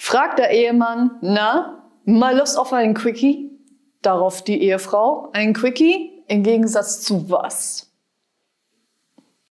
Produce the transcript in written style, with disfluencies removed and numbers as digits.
Fragt der Ehemann, na, mal Lust auf einen Quickie? Darauf die Ehefrau, ein Quickie? Im Gegensatz zu was?